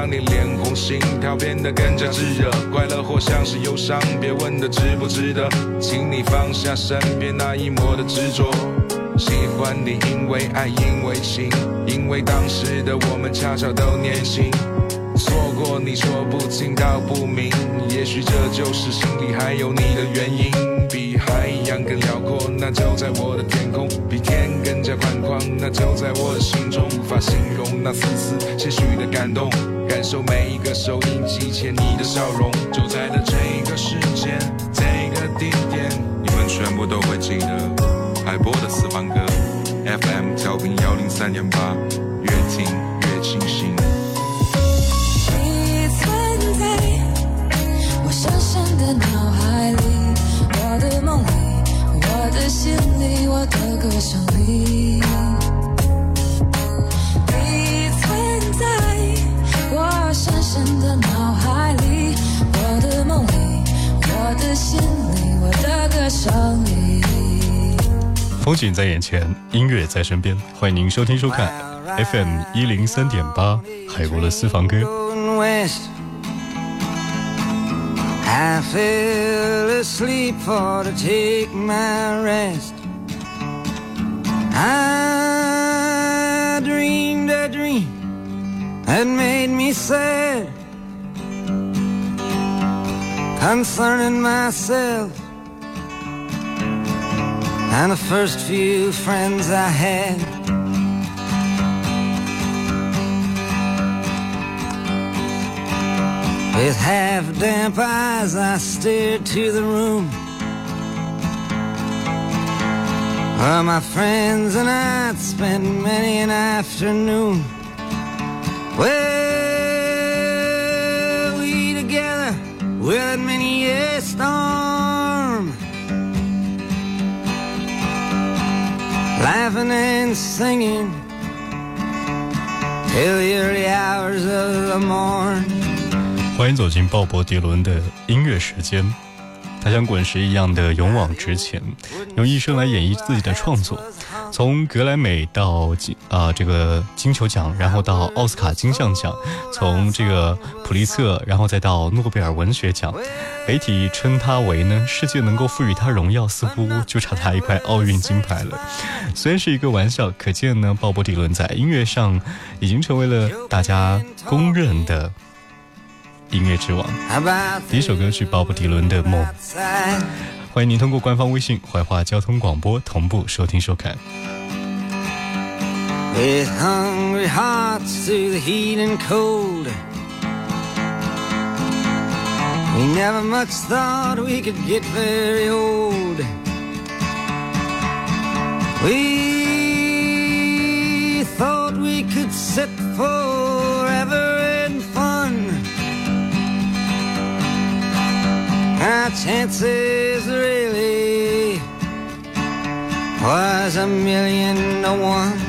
让你脸红，心跳变得更加炙热。快乐或像是忧伤，别问的值不值得，请你放下身边那一抹的执着。喜欢你，因为爱，因为情，因为当时的我们恰巧都年轻。错过你说不清道不明，也许这就是心里还有你的原因。比海洋更辽阔，那就在我的天空；比天更加宽广，那就在我的心中。无法形容那丝丝些许的感动，感受每一个收音机前你的笑容。就在了这个时间，这个地点，你们全部都会记得海波的私房歌 FM 调频103.8，越听越清醒。 你存在我深深的脑海里，我的梦里，我的心里，我的歌声里。你存在我深深的脑海里，我的梦里，我的心里，我的歌声里。 风景在眼前，音乐在身边，欢迎您收听收看 FM 103.8海波的私房歌。 I fell asleep for to take my rest. I dreamed a dream that made me sad concerning myself and the first few friends I had. With half-damp eyes I stared to the room where my friends and I'd spent many an afternoon. Well, we together weathered many a storm, laughing and singing till the early hours of the morn. 欢迎走进鲍勃迪伦的音乐时间。他像滚石一样的勇往直前，用一生来演绎自己的创作，从格莱美到这个金球奖，然后到奥斯卡金像奖，从这个普利策，然后再到诺贝尔文学奖。媒体称他为呢，世界能够赋予他荣耀，似乎就差他一块奥运金牌了。虽然是一个玩笑，可见呢，鲍勃迪伦在音乐上已经成为了大家公认的音乐之王。第一首歌曲鲍勃迪伦的《梦》，欢迎您通过官方微信怀化交通广播同步收听收看。 With hungry hearts through the heat and cold, we never much thought we could get very old. We thought we could sit forever in fun. Our chances really was 1,000,000 to 1.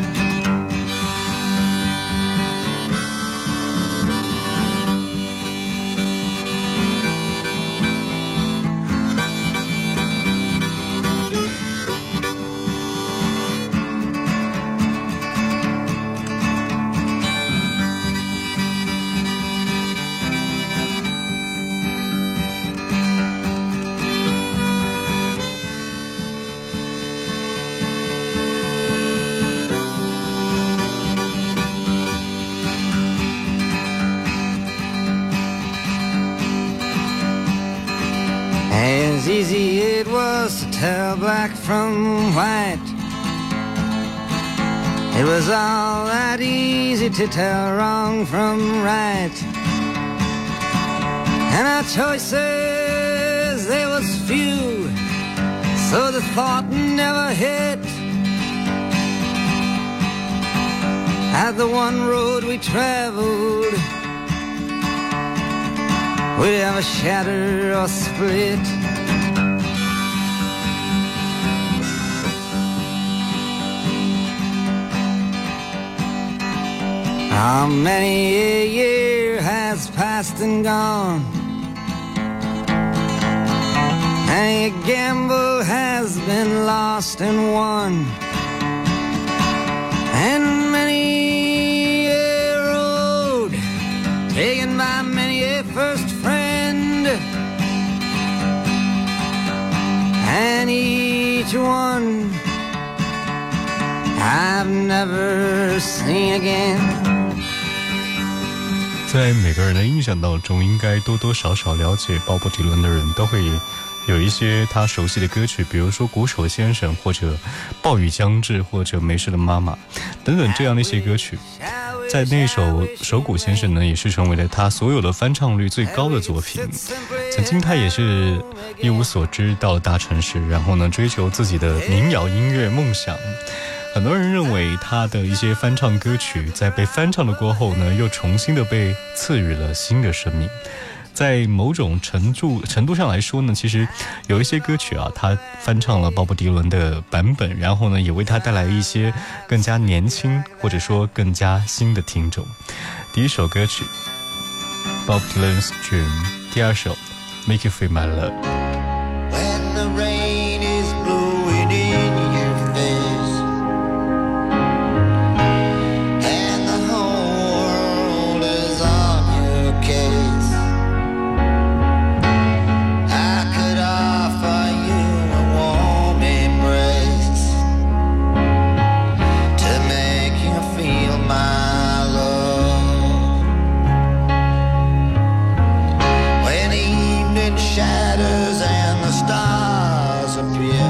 As easy it was to tell black from white, it was all that easy to tell wrong from right. And our choices, they was few, so the thought never hit at the one road we traveled would ever shatter or split. How many a year has passed and gone, many a gamble has been lost and won, and many a road taken each one I've never seen again。 在每个人的印象当中，应该多多少少了解鲍勃迪伦的人都会有一些他熟悉的歌曲，比如说鼓手先生，或者暴雨将至，或者没事的妈妈等等这样的一些歌曲。在那首手鼓先生呢，也是成为了他所有的翻唱率最高的作品。曾经他也是一无所知，到了大城市，然后呢追求自己的民谣音乐梦想。很多人认为他的一些翻唱歌曲在被翻唱的过后呢，又重新的被赐予了新的生命。在某种程度上来说呢，其实有一些歌曲啊，他翻唱了鲍勃迪伦的版本，然后呢也为他带来一些更加年轻或者说更加新的听众。第一首歌曲 Bob Dylan's Dream， 第二首 Make You Feel My Love。When the rain is blowing in your face and the whole world is on your case, I could offer you a warm embrace to make you feel my love. When the evening shadows and the stars appear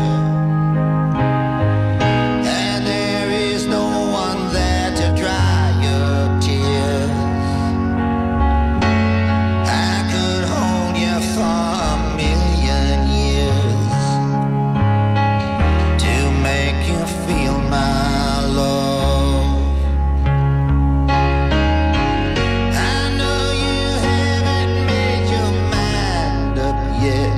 and there is no one there to dry your tears, I could hold you for a million years to make you feel my love. I know you haven't made your mind up yet,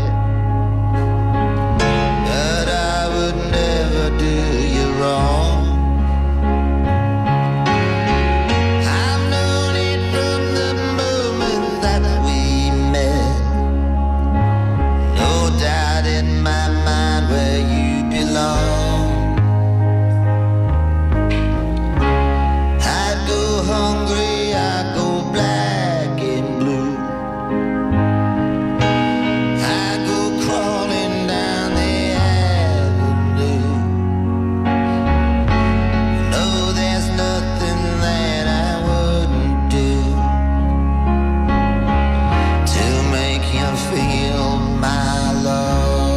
but I would never do you wrong. I've known it from the moment that we met. No doubt in my mind where you belong. I'd go hungry, I'd go black and blue, I'd go crawling down the avenue. No, there's nothing that I wouldn't do to make you feel my love.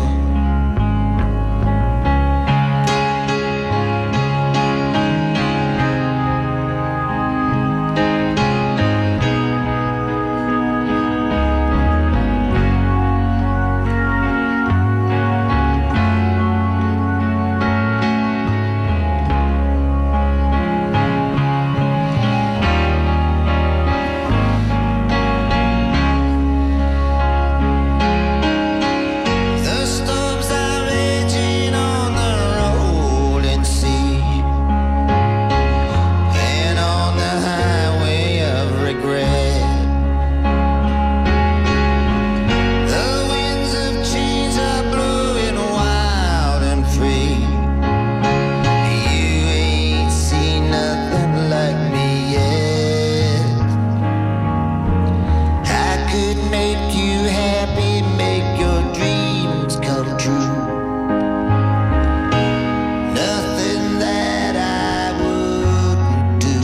The storms are raging on the rolling sea and on the highway of regret. The winds of change are blowing wild and free. You ain't seen nothing like me yet. I could make you happy, make your dreams come true. Nothing that I wouldn't do.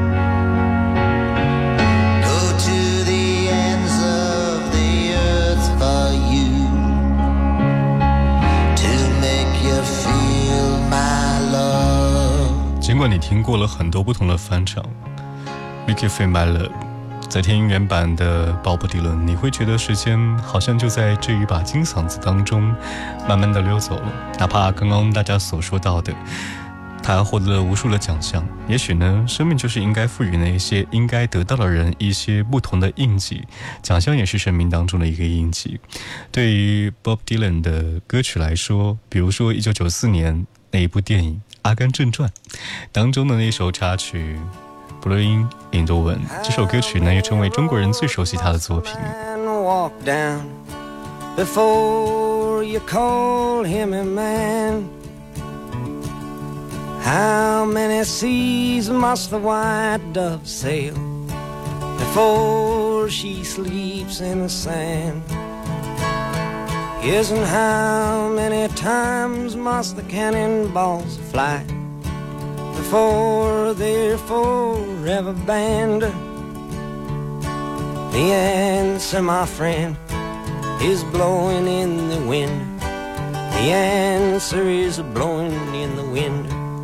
Go to the ends of the earth for you to make you feel my love。 尽管你听过了很多不同的翻唱 Make You Feel My Love， 在听原版的鲍勃迪伦，你会觉得时间好像就在这一把金嗓子当中慢慢的溜走了。哪怕刚刚大家所说到的，他获得了无数的奖项，也许呢，生命就是应该赋予那些应该得到的人一些不同的印记，奖项也是生命当中的一个印记。对于 Bob Dylan 的歌曲来说，比如说1994年那一部电影《阿甘正传》当中的那首插曲Blowing in the Wind， 这首歌曲呢也成为中国人最熟悉他的作品。 Walk down before you call him a man. How many seas must the white dove sail before she sleeps in the sand? Yes, and how many times must the cannonballs fly before they're forever banned? The answer, my friend, is blowing in the wind. The answer is blowing in the wind.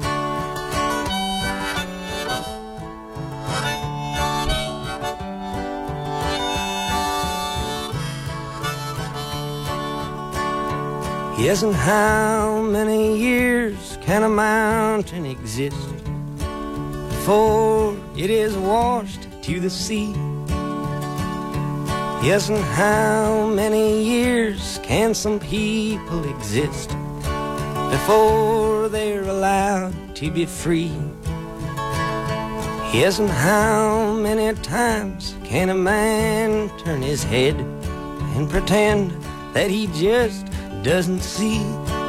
Yes, and how many years can a mountain exist before it is washed to the sea? Yes, and how many years can some people exist before they're allowed to be free? Yes, and how many times can a man turn his head and pretend that he just doesn't see?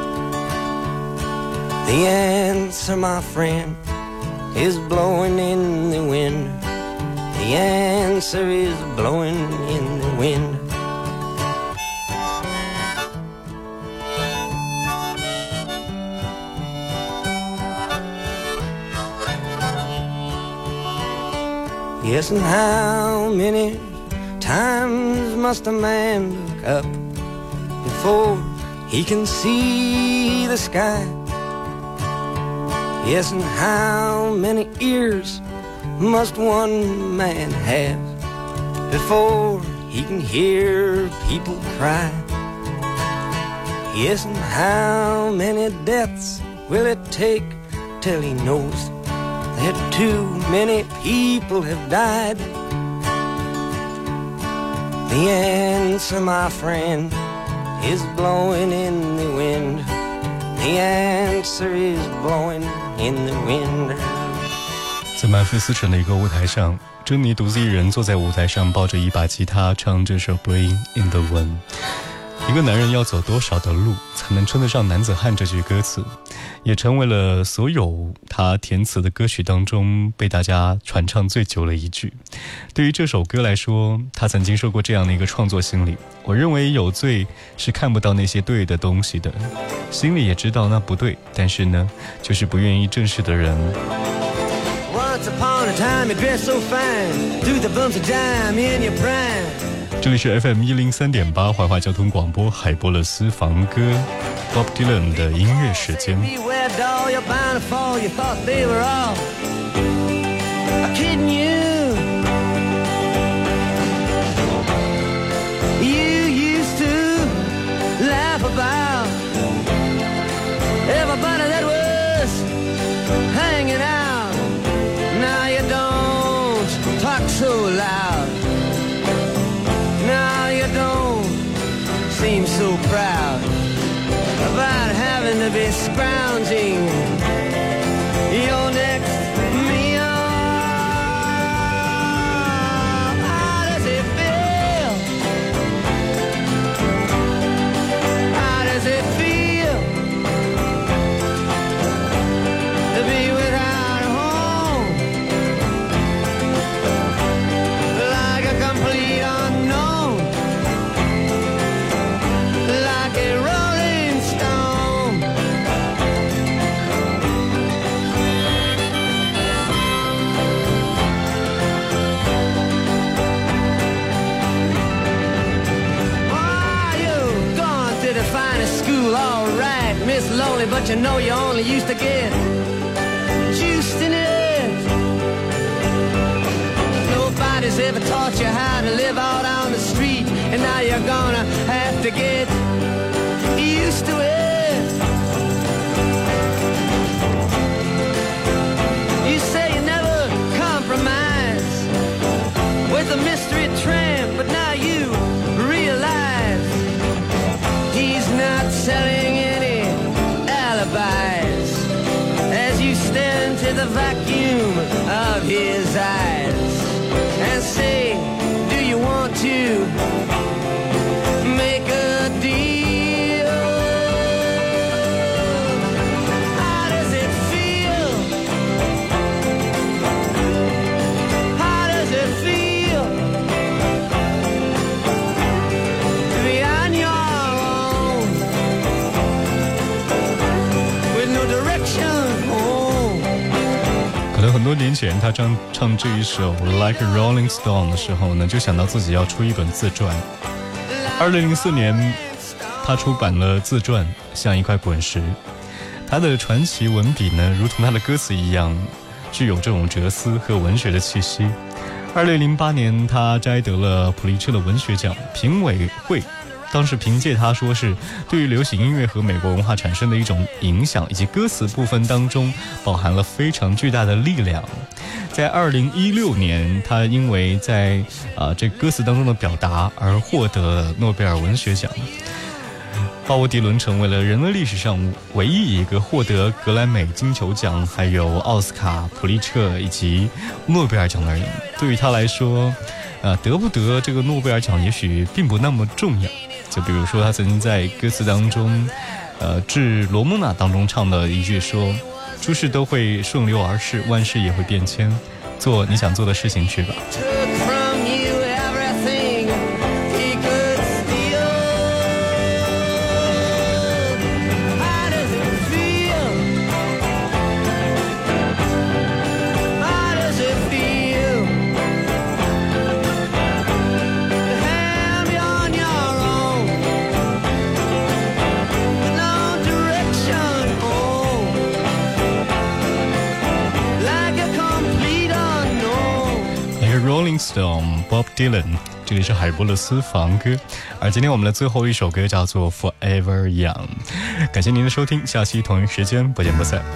The answer, my friend, is blowing in the wind. The answer is blowing in the wind. Yes, and how many times must a man look up before he can see the sky? Yes, and how many ears must one man have before he can hear people cry? Yes, and how many deaths will it take till he knows that too many people have died? The answer, my friend, is blowing in the wind. The answer is blowing in the wind. 在曼菲斯城的一个舞台上，珍妮独自一人坐在舞台上，抱着一把吉他，唱这首《Blowing in the Wind》。一个男人要走多少的路才能称得上男子汉？这句歌词也成为了所有他填词的歌曲当中被大家传唱最久的一句。对于这首歌来说，他曾经说过这样的一个创作心理：我认为有罪是看不到那些对的东西的，心里也知道那不对，但是呢，就是不愿意正视的人。 Once upon a time, you dressed so fine, through the bumps of dime in your prime. 这里是 FM 103.8怀化交通广播海波勒私房歌 Bob Dylan 的音乐时间。 Beware, doll, you're bound to fall. You thought they were all kidding you. You used to laugh about everybody that was hanging out. Now you don't talk so loud. Now you don't seem so proud about having to be scrounging your next meal. How does it feel? How does it feel to be without a home? Like a complete unknown, like a rolling stone. Oh, you've gone to the finest school, all right, Miss Lonely, but you know you only used to get juiced in it. Nobody's ever taught you how to live out on the street, and now you're gonna have to get used to it. You say you never compromise with a mystery tramp, but now you realize he's not selling any alibis as you stare into the vacuum of his eyes and say, do you want to make a deal? 很多年前他唱这一首 Like a Rolling Stone 的时候呢，就想到自己要出一本自传。2004年他出版了自传《像一块滚石》，他的传奇文笔呢，如同他的歌词一样，具有这种哲思和文学的气息。2008年他摘得了普利策的文学奖，评委会当时凭借他说是对于流行音乐和美国文化产生的一种影响，以及歌词部分当中饱含了非常巨大的力量。在2016年他因为在这歌词当中的表达而获得诺贝尔文学奖。鲍勃迪伦成为了人类历史上唯一一个获得格莱美金球奖还有奥斯卡、普利策以及诺贝尔奖的人。对于他来说得不得这个诺贝尔奖也许并不那么重要。就比如说他曾经在歌词当中致罗蒙娜当中唱的一句说，诸事都会顺流而逝，万事也会变迁，做你想做的事情去吧。Rolling Stone Bob Dylan， 这里是海波勒私房歌，而今天我们的最后一首歌叫做 Forever Young。 感谢您的收听，下期同一时间不见不散。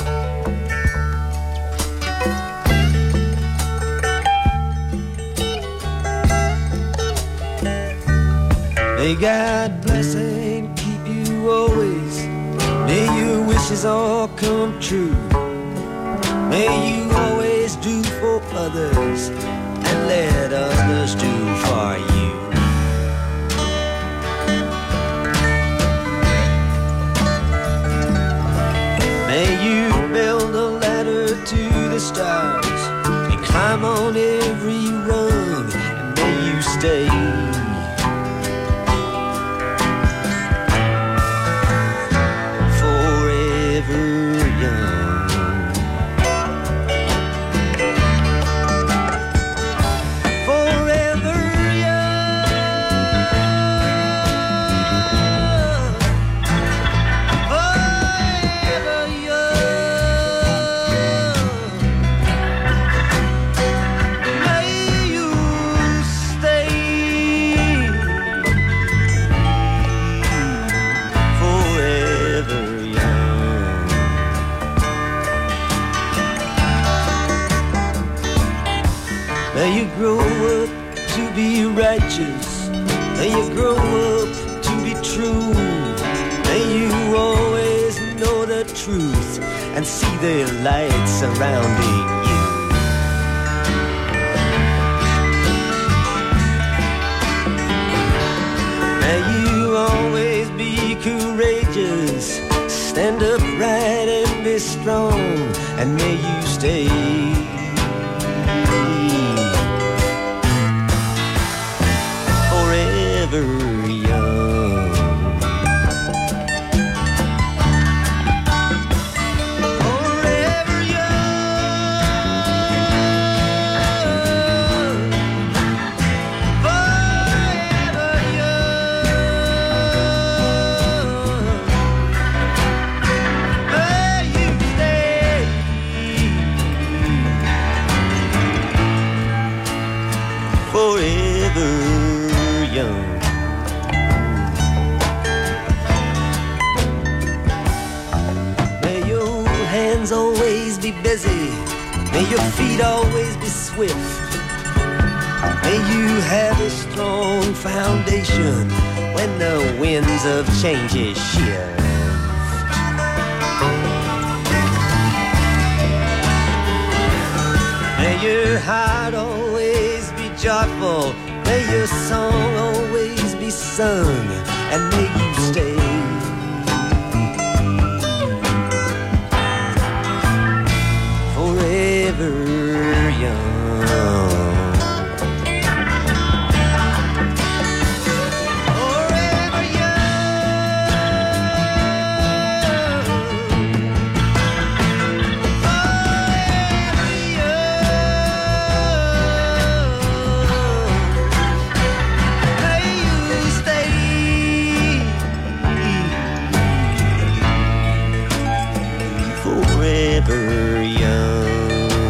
May God bless and keep you always. May your wishes all come true. May you always do for others and let others do for you. May you build a ladder to the stars and climb on every rung, and may you stay May you grow up to be righteous. May you grow up to be true. May you always know the truth and see the light surrounding you. May you always be courageous. Stand upright and be strong, and may you stay always be busy. May your feet always be swift. May you have a strong foundation when the winds of change shift. May your heart always be joyful. May your song always be sung, and may you stay forever young. Forever young. Forever forever young.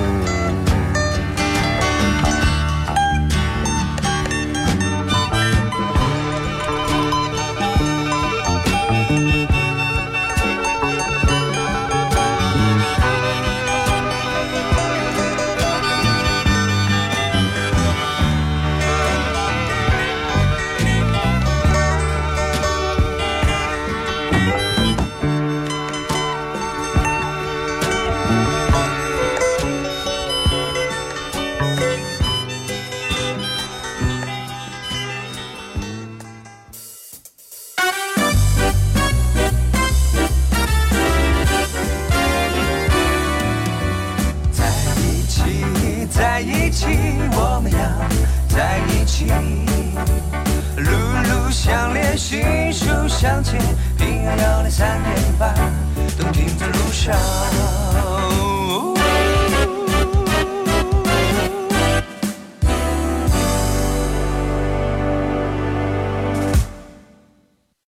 在一起，我们要在一起，路路相连，心手相牵，平安要来3天